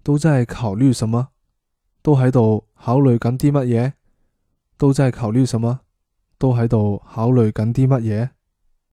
都在考慮什麼？都喺度考慮緊啲乜嘢？都在考慮什麼？都喺度考慮緊啲乜嘢？